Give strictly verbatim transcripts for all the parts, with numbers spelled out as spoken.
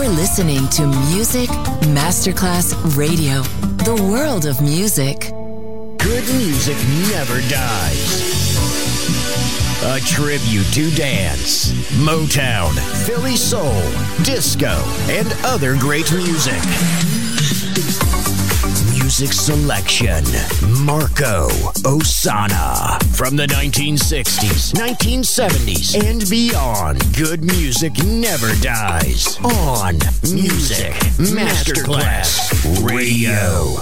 You're listening to Music Masterclass Radio, the world of music. Good music never dies. A tribute to dance, Motown, Philly soul, disco, and other great music. Music selection, Marco Ossanna. From the nineteen sixties, nineteen seventies, and beyond, good music never dies. On Music Masterclass Radio.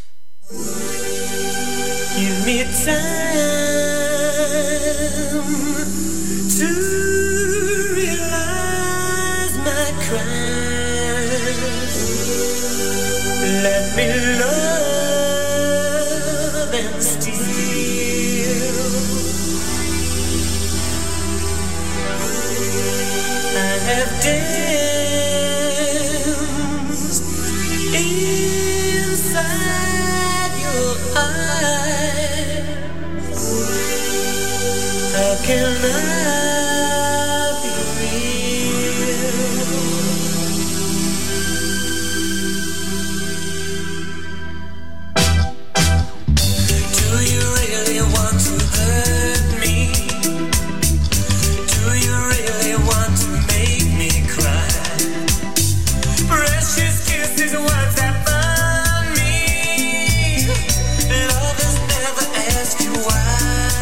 Give me time to realize my crimes. Let me love and steal. I have danced inside your eyes. How can I be Do you really want to hurt me? Do you really want to make me cry? Precious kisses, words that burn me. Lovers never ask you why.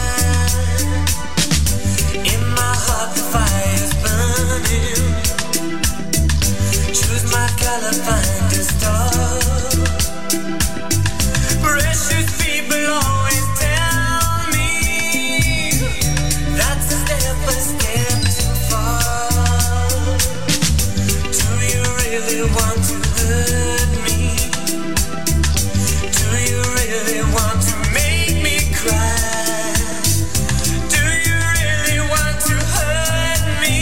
In my heart the fire's burning. Choose my color, find a star. Precious people always tell me that's a step, a step too far. Do you really want to hurt me? Do you really want to make me cry? Do you really want to hurt me?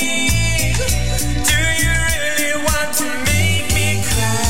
Do you really want to make me cry?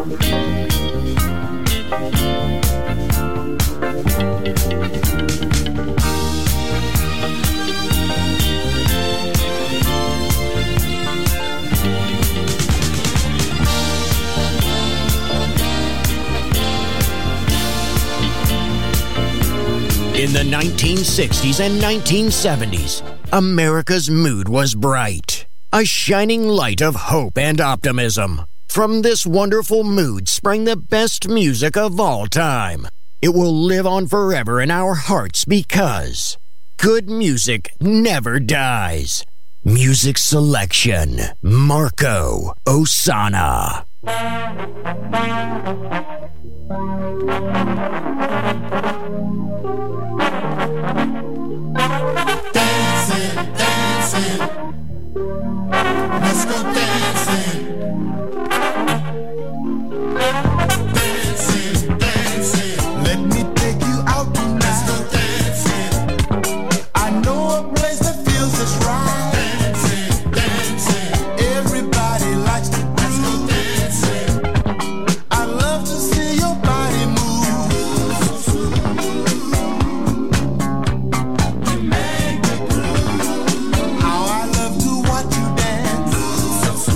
In the nineteen sixties and nineteen seventies, America's mood was bright, a shining light of hope and optimism. From this wonderful mood sprang the best music of all time. It will live on forever in our hearts because good music never dies. Music selection, Marco Ossanna. Dancing, dancing, let's go dancing. Dancing, dancing, let me take you out tonight. Let's go dancing. I know a place that feels just right. Dancing, dancing, everybody likes to do. Let's go dancing. I love to see your body move. You make me groove. How I love to watch you dance. So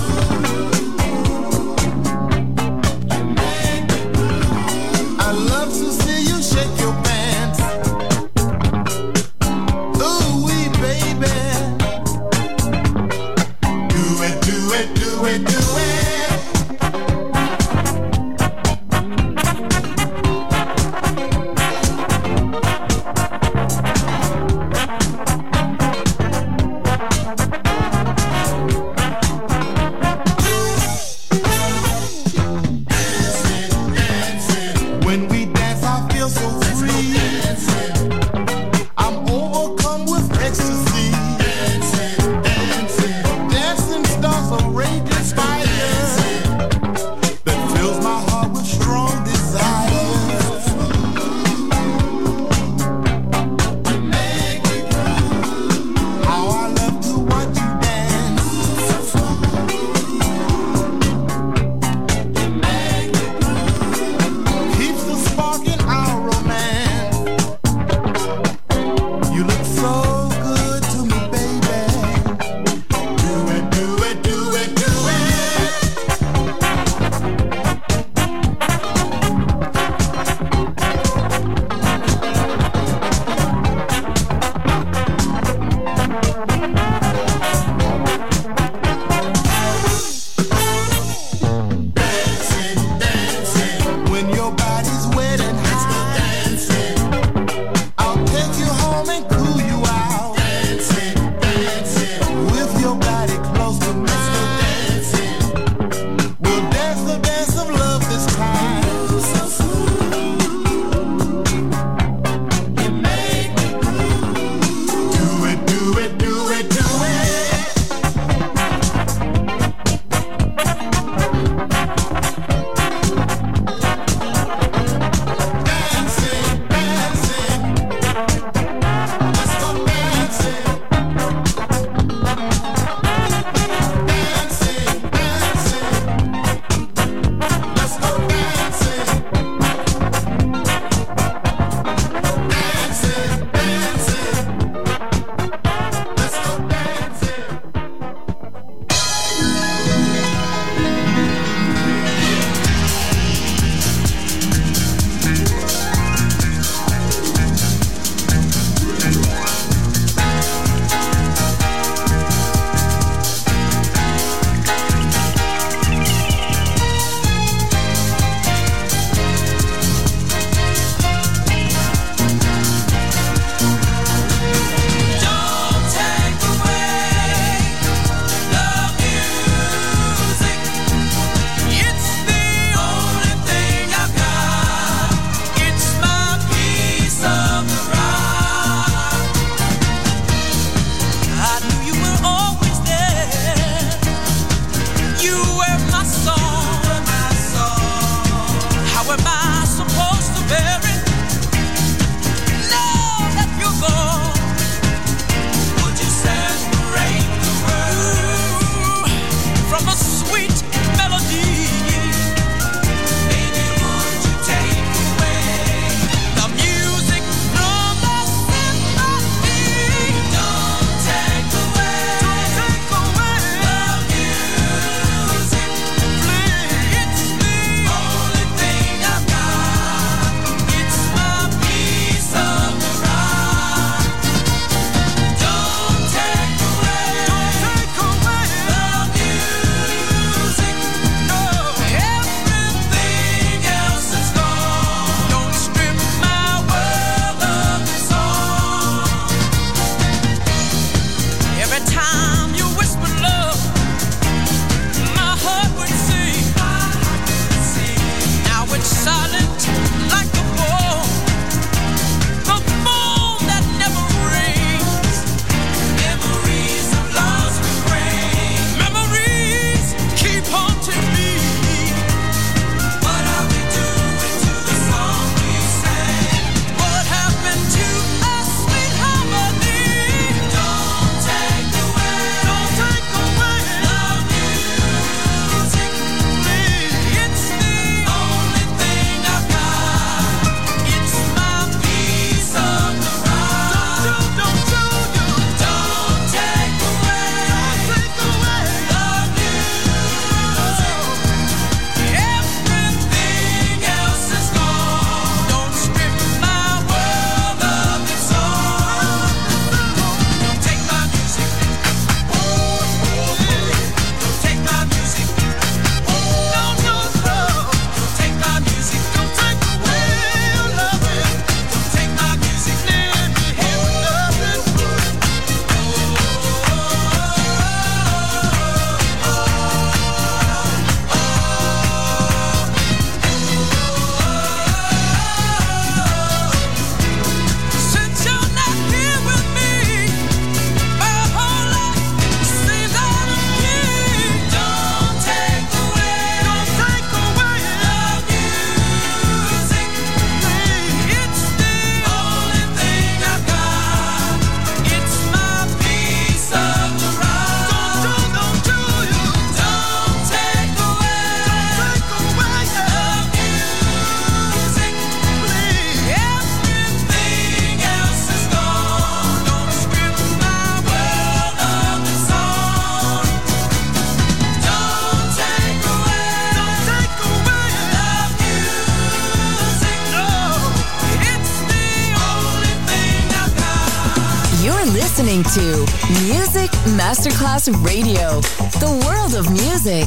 listening to Music Masterclass Radio, the world of music.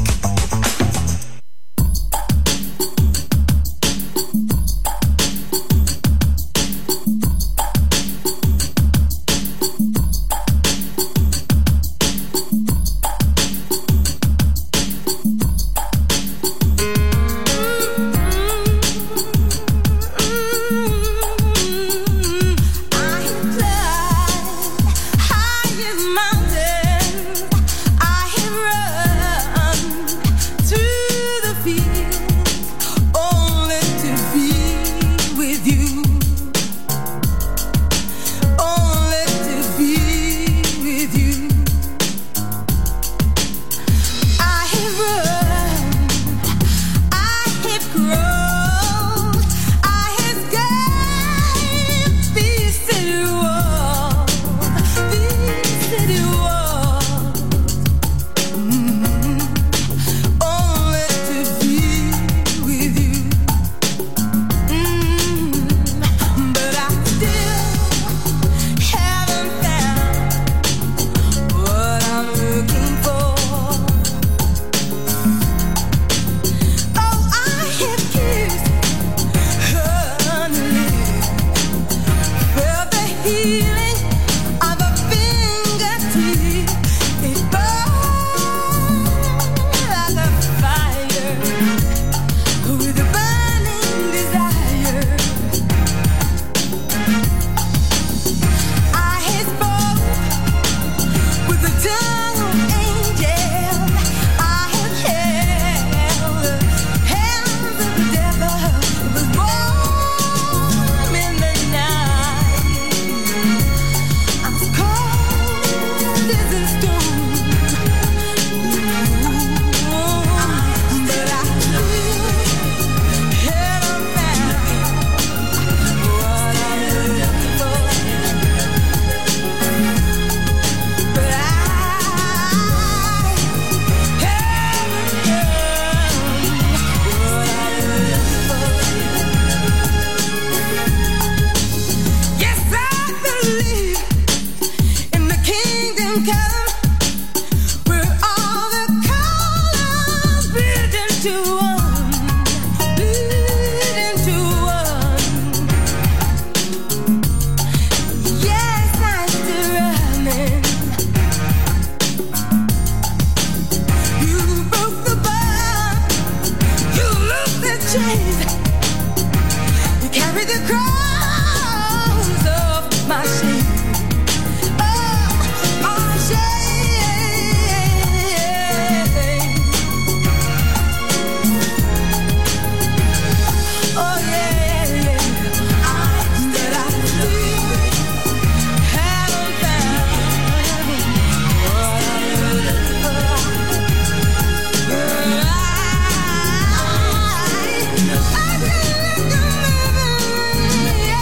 Yeah.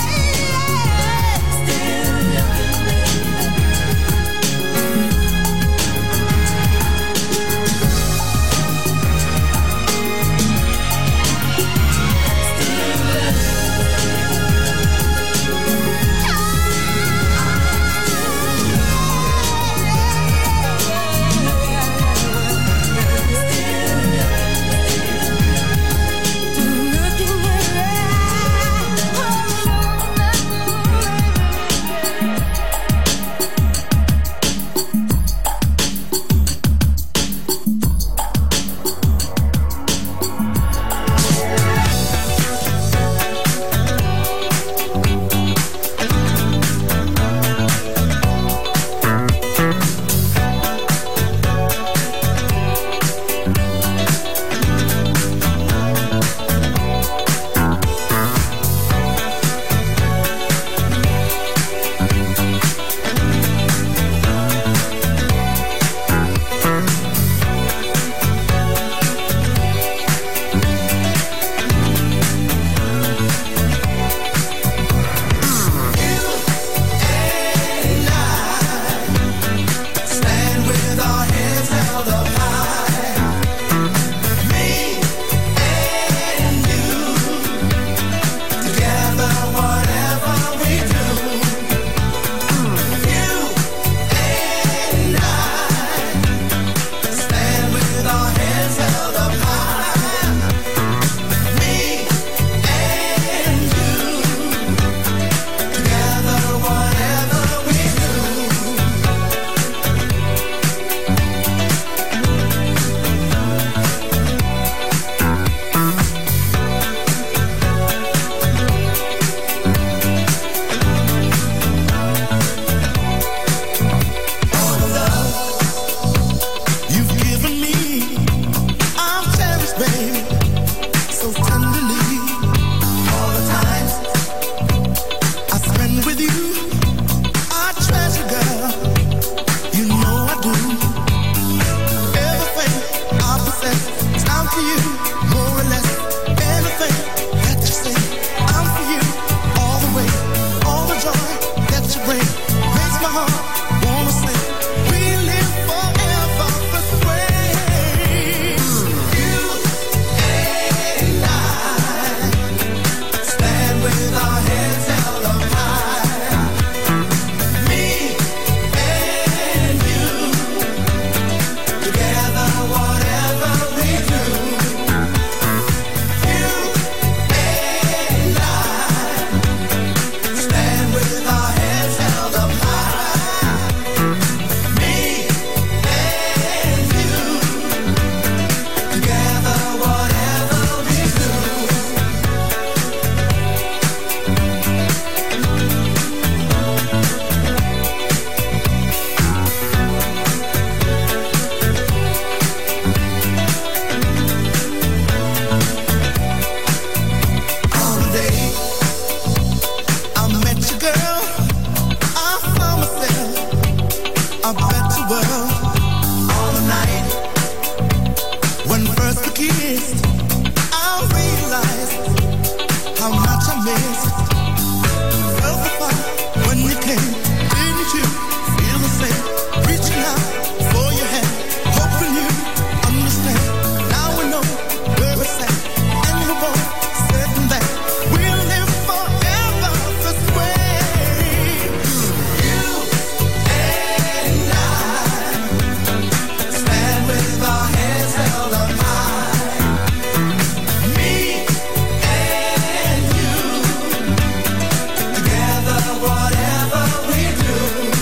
miss. Felt the fire when you came. Didn't you feel the same? Reaching out for your hand, hoping you understand. Now we know where it's at, and you're both sitting back. We'll live forever this way. You and I stand with our hands held up high. Me and you together, whatever we do.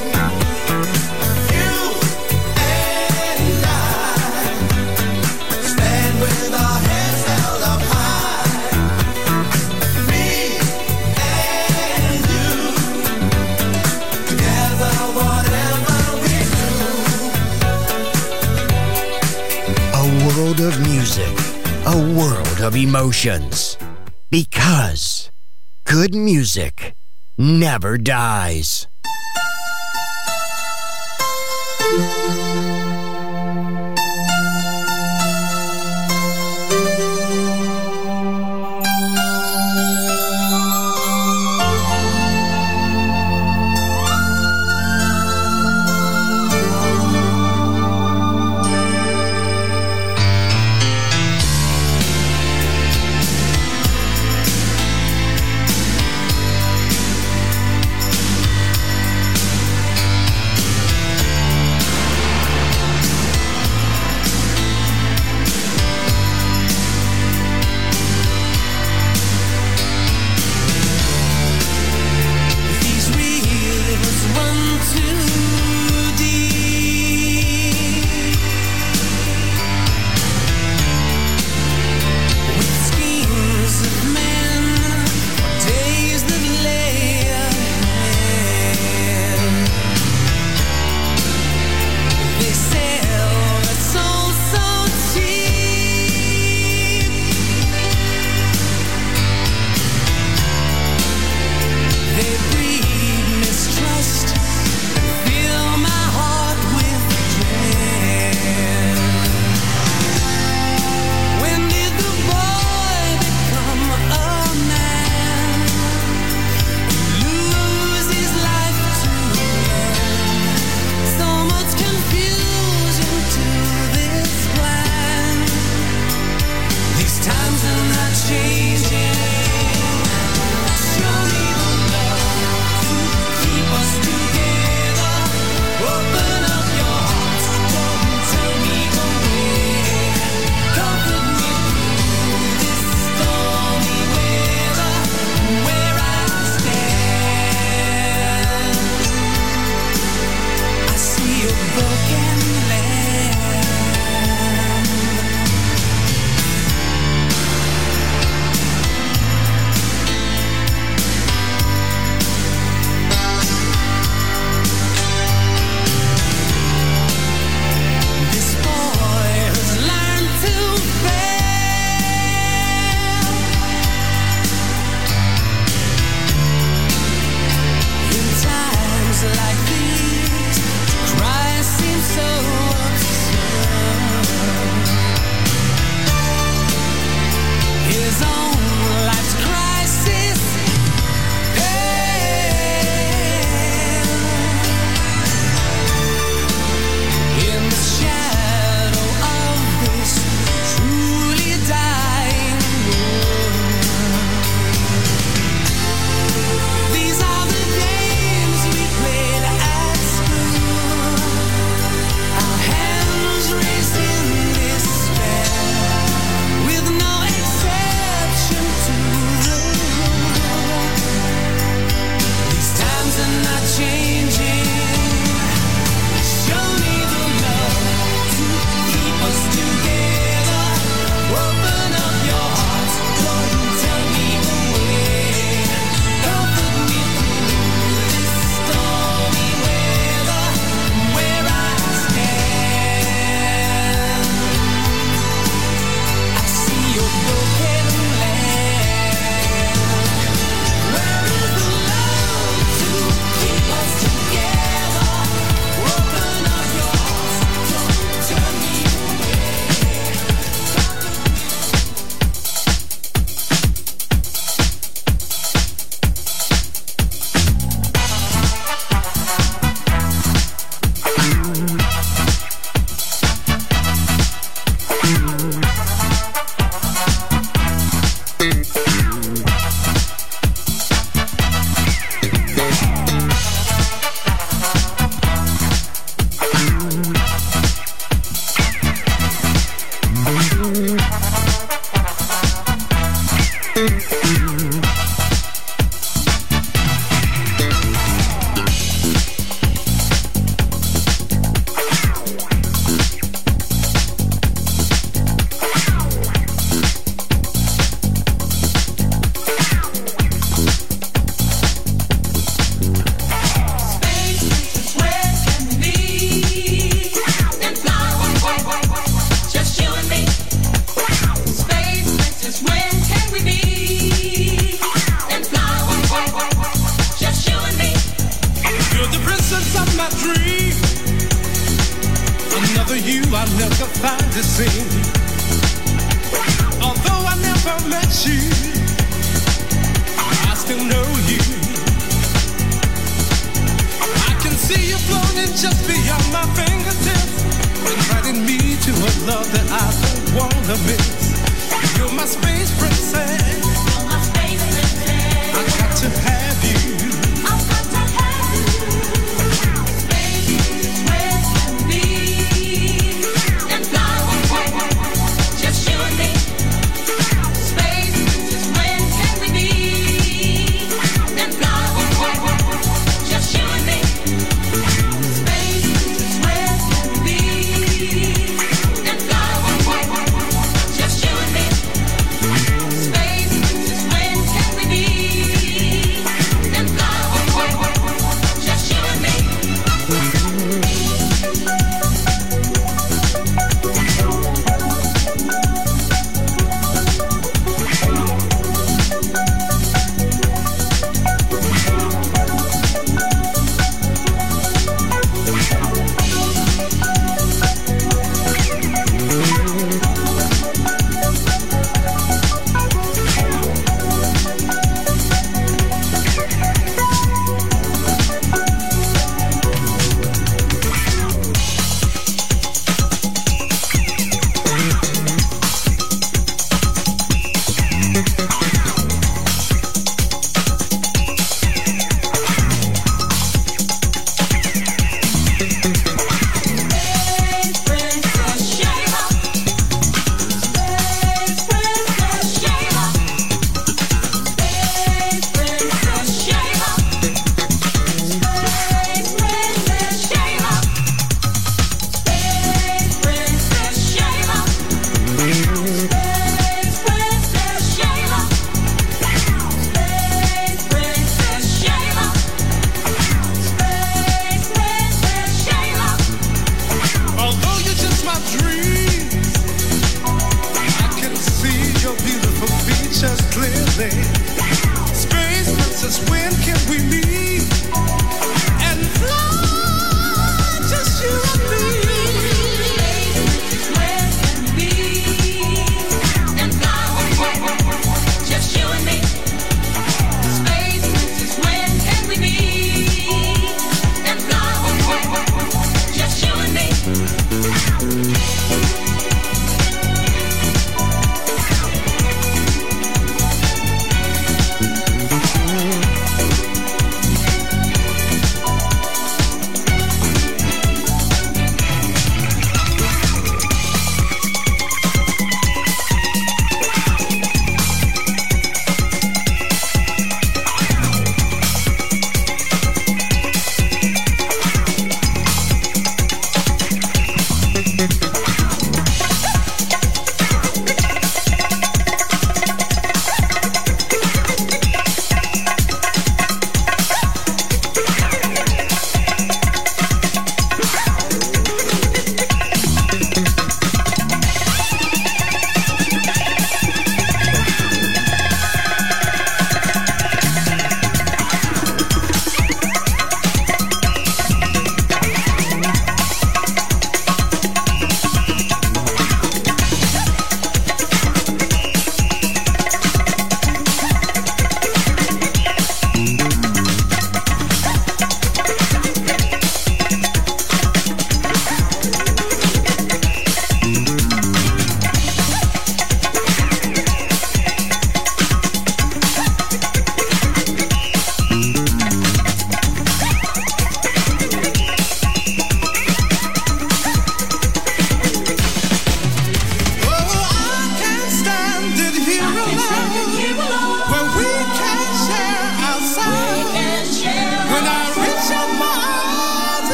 You and I stand with our hands held up high. Me and you together, whatever we do. A world of music, a world of emotions. Because good music never dies.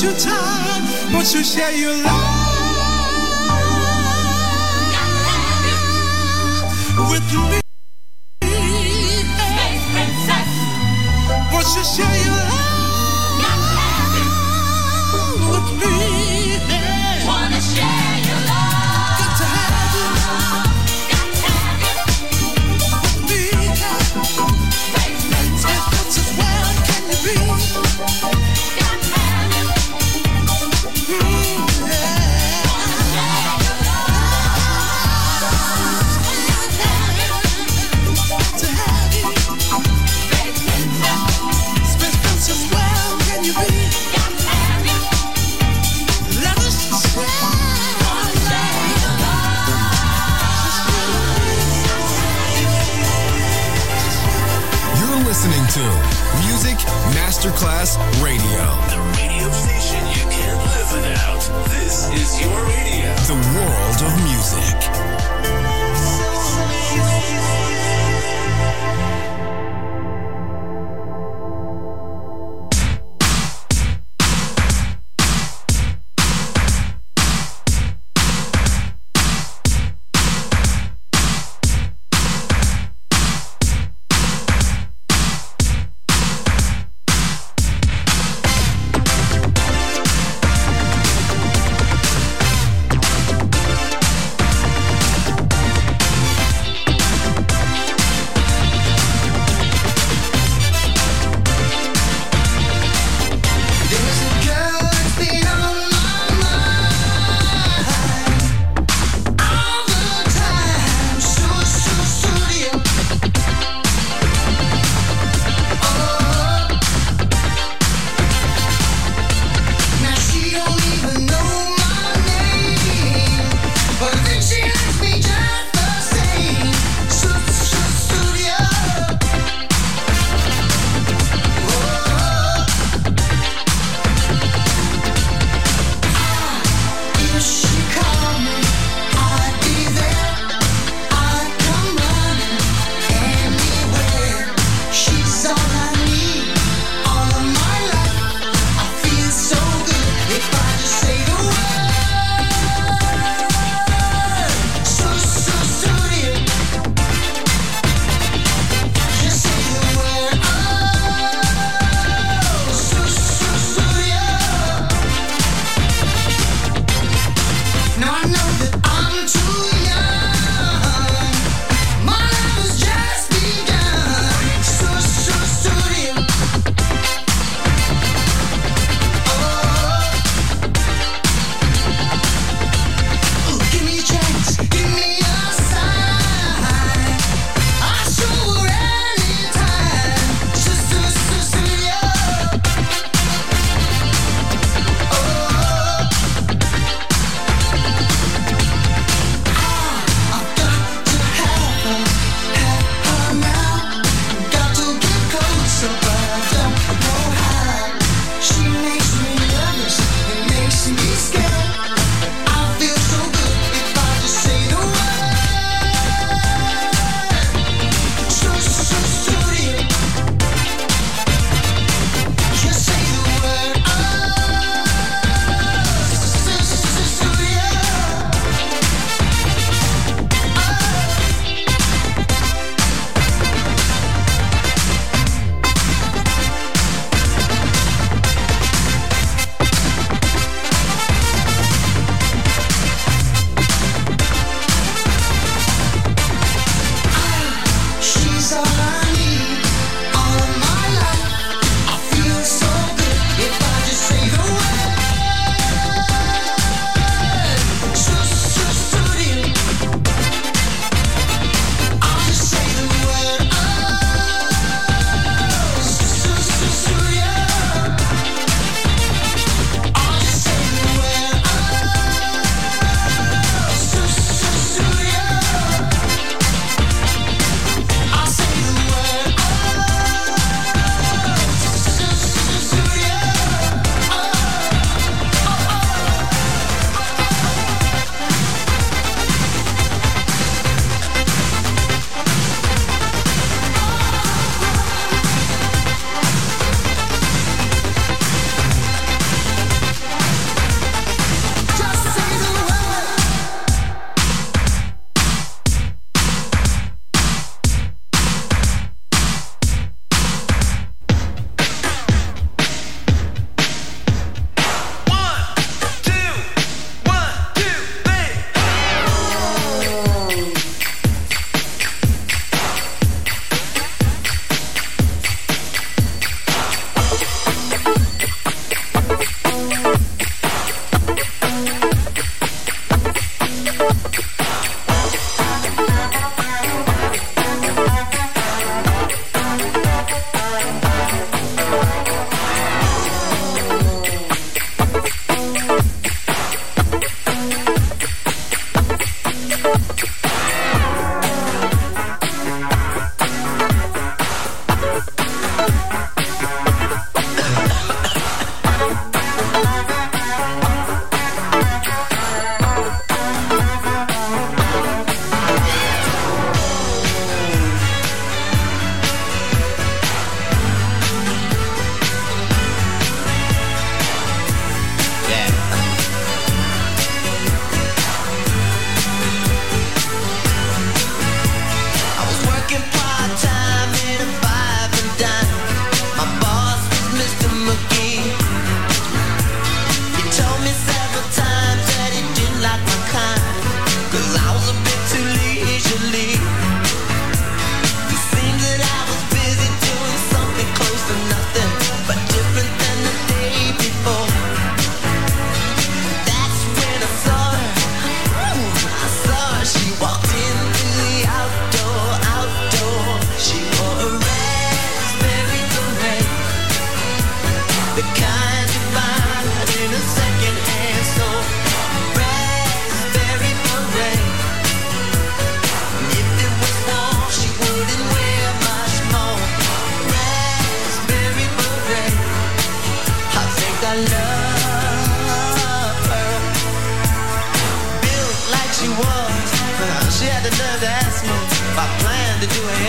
your time, won't you share your life with me? Space Princess, won't you share your life with me? Wanna share your love? Got to have you, got to have you with me. Space Princess, as well can you be? Got to have you, mm, yeah. Wanna share your love? Got to have you, got to have you. Space Princess, Space Princess, as well can you be? Got to have you. Let us share. You're listening to Music Masterclass Radio. The radio station you can't live without. This is your radio. The world of music.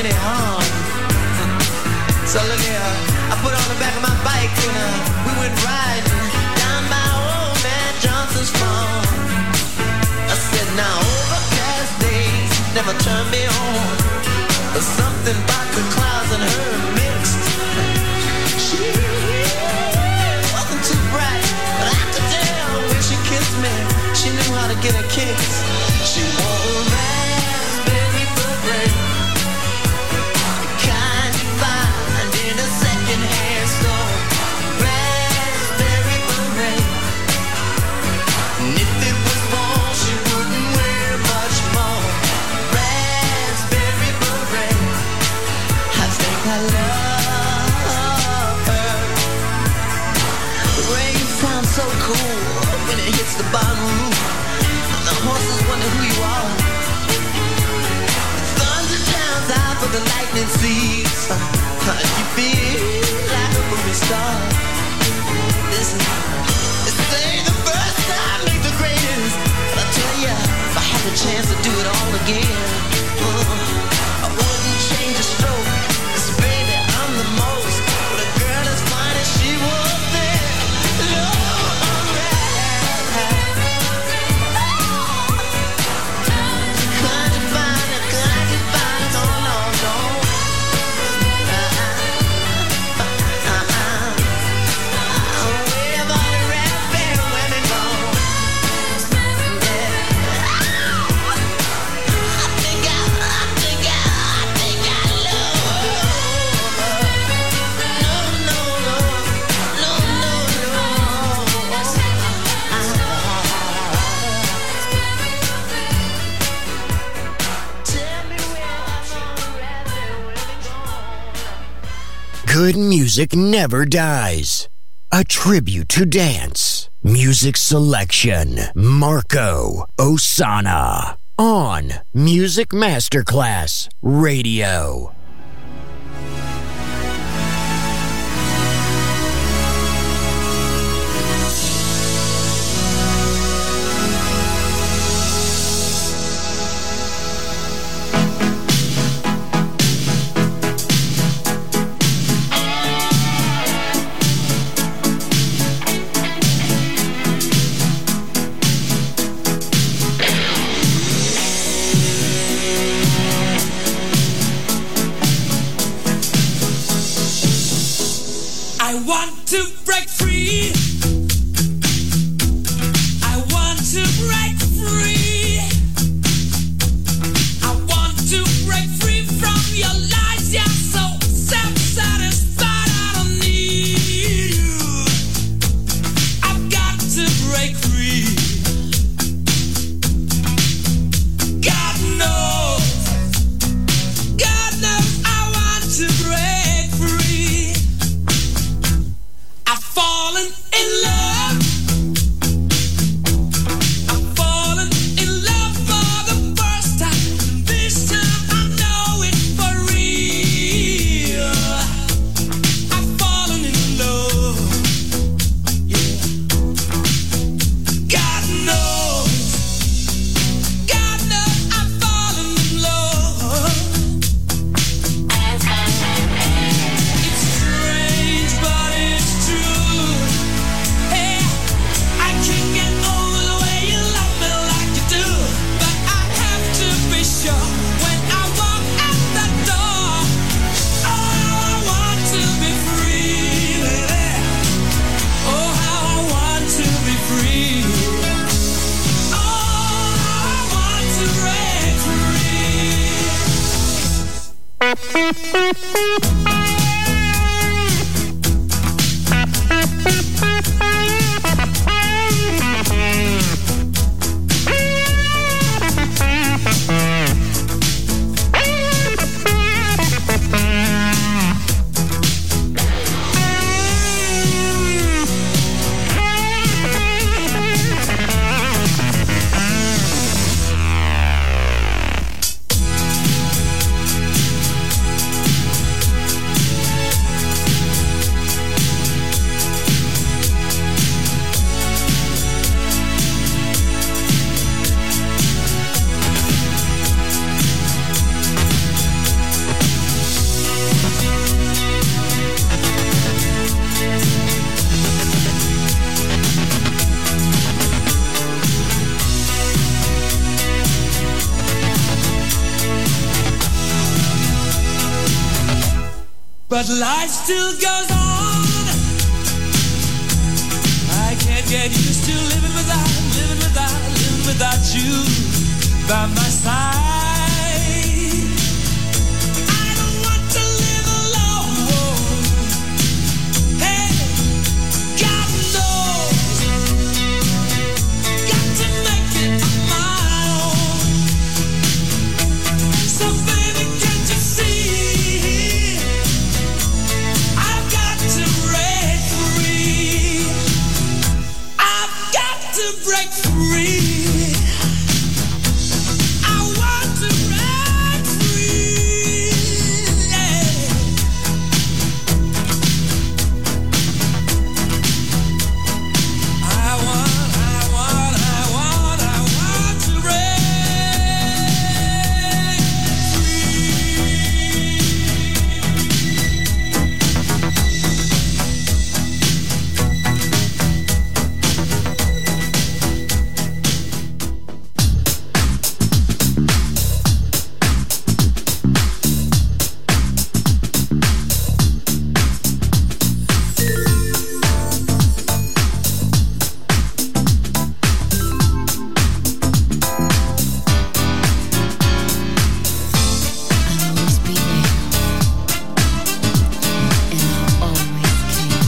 any harm. So look here, I put on the back of my bike and uh, we went riding down by old man Johnson's farm. I said, now overcast days never turn me on. There's something about the clouds and her mixed. She wasn't too bright, but I could tell when she kissed me, she knew how to get a kiss. She wore a raspberry beret, the kind you find in a second-hand store. Raspberry beret, and if it was warm, she wouldn't wear much more. Raspberry beret, I think I love her. The rain sounds so cool when it hits the bottom roof. The horses wonder who you are. The thunder drowns out for the lightning seeds. You feel like a movie star. Listen, they say the first time makes the greatest. But I tell ya, if I had the chance to do it all again, uh, I wouldn't change a stroke. 'Cause baby, I'm the most. But a girl as fine as she was there. Lord, I'm right. Can't you find it? Can't you find it? No, no, no. Uh-uh. Uh-uh. Where have all the raspberry women gone? Yeah. I think I, I think I, I think I love her. No, no, no. No, no, no. Tell me where have all the raspberry women gone? Good music never dies. A tribute to dance. Music selection. Marco Ossanna. On Music Masterclass Radio. I want to break free. I want to break free. I want to break free from your lies. You're so self-satisfied. I don't need you. I've got to break free. God knows. God knows I want to break free. I've fallen in love. I've fallen in love for the first time. This time I know it for real. I've fallen in love. Yeah. God knows. God knows I've fallen in love. It's strange, but it's true. Hey, I can't get over the way you love me like you do. But I have to be sure when I walk out the door. Oh, how I want to be free, baby. Oh, how I want to be free. Oh, how I want to break but life still goes on. I can't get used to living without, living without, living without you by my side. I don't want to live alone. Hey, God knows, got to make it on my own. So baby, can't you see? I've got to break free. I've got to break free. I want to break free. Yeah. I want, I want, I want, I want to break free. I'll always be there, and I'll always care.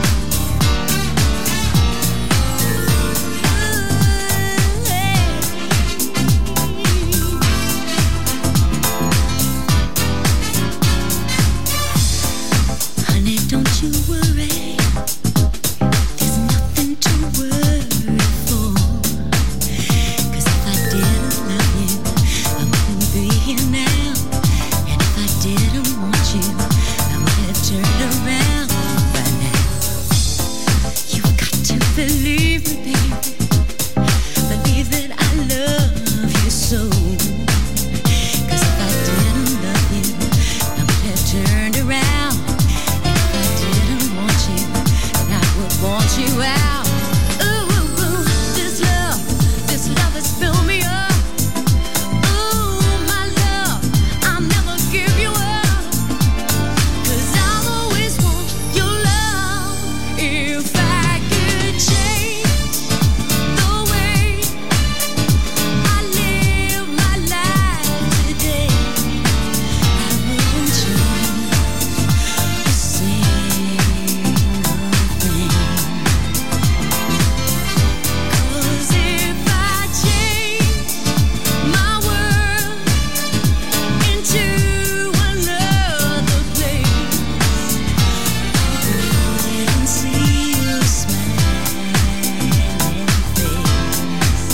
Honey, don't you worry. There's nothing to worry for. 'Cause if I didn't love you, I wouldn't be here now. And if I didn't want you, I would have turned around by now. You got to believe me, baby. Believe that I love you so. 'Cause if I didn't love you, I would have turned around. And if I didn't want you, then I would want you out. Ooh, ooh, ooh, this love, this love has filled me up. Ooh, my love, I'll never give you up. 'Cause I'll always want your love. If I could change the way I live my life today, I wouldn't change a single thing. 'Cause if I change my world into another place, I wouldn't see your smiling face.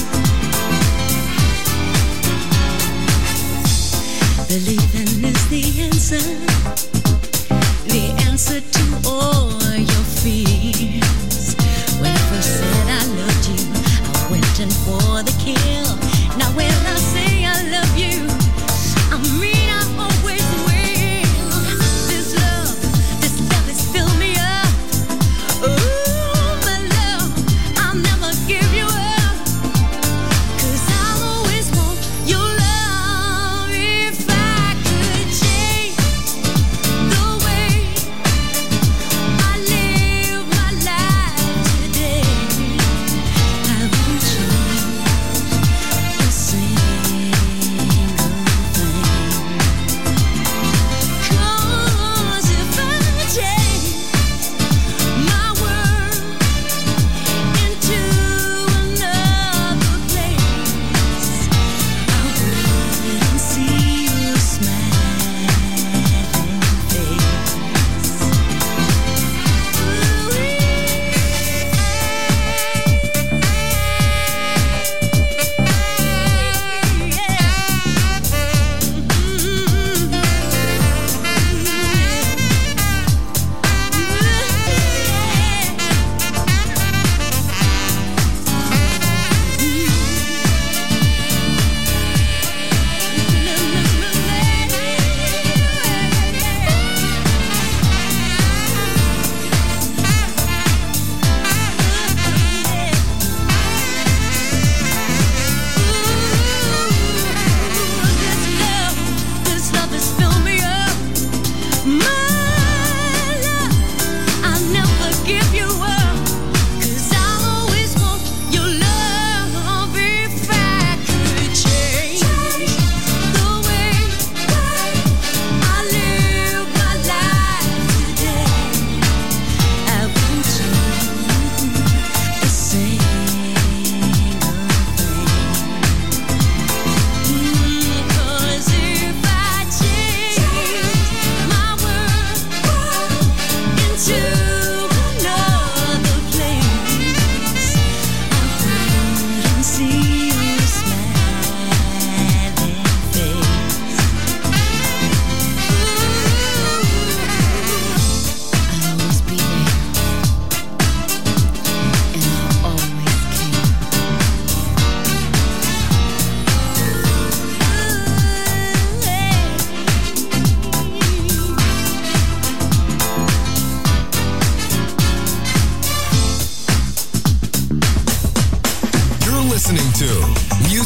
Believing is the answer, the answer to all your fears. When I first said I loved you, I went in for the kill. Now when I say I love you, I mean I always will. This love, this love has filled me up. Ooh, my love, I'll never give you up. 'Cause I'll always want your love. If I could change the way I live my life today, I wouldn't change a single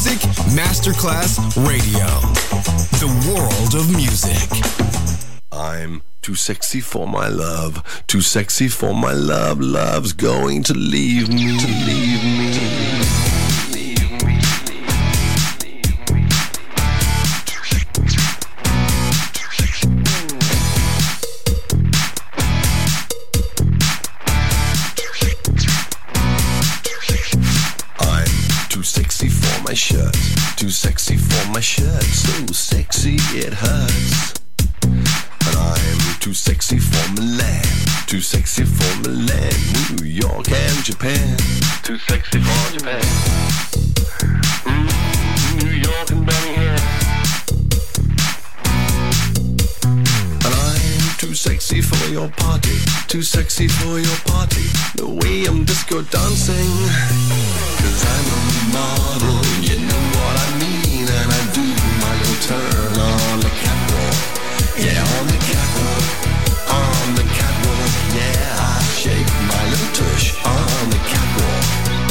Music Masterclass Radio. The world of music. I'm too sexy for my love, too sexy for my love. Love's going to leave me, to leave me. My shirt, too sexy for my shirt, so sexy it hurts. And I'm too sexy for Milan, too sexy for Milan, New York and Japan, too sexy for Japan. Mm, New York and Birmingham. And I'm too sexy for your party, too sexy for your party, the way I'm disco dancing. Cause I'm a model, you know what I mean, and I do my little turn on the catwalk. Yeah, on the catwalk, on the catwalk. Yeah, I shake my little tush on the catwalk.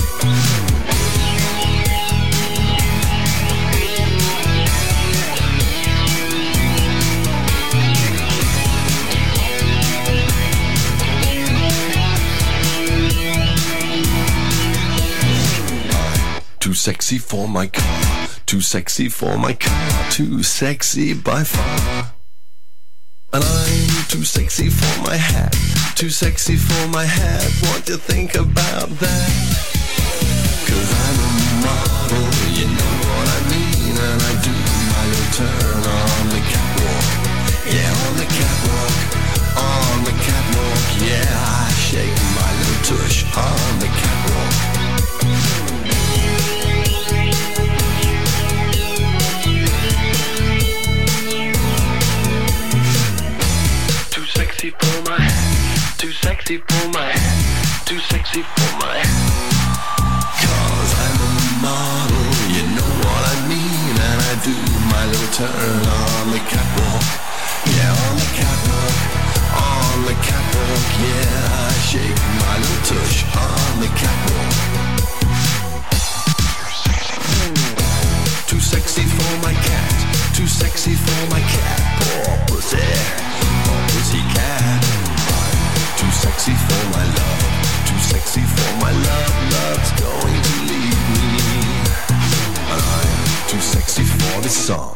Too sexy for my car, too sexy for my car, too sexy by far. And I'm too sexy for my hat, too sexy for my hat. What do you think about that? Cause I'm a model, you know what I mean, and I do my little turn on the catwalk. Yeah, on the catwalk, on the catwalk. Yeah, I shake my little tush on the catwalk. Too sexy for my hat, too sexy for my hat, too sexy for my hat. Cause I'm a model, you know what I mean, and I do my little turn on the catwalk. Yeah, on the catwalk, on the catwalk. Yeah, I shake my little tush on the catwalk. Too sexy for my cat, too sexy for my cat. Poor pussy, poor pussy cat. Too sexy for my love, too sexy for my love. Love's going to leave me, and I'm too sexy for this song.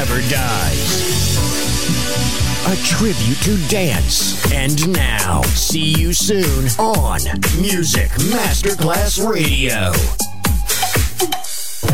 never dies. A tribute to dance. And now, see you soon on Music Masterclass Radio.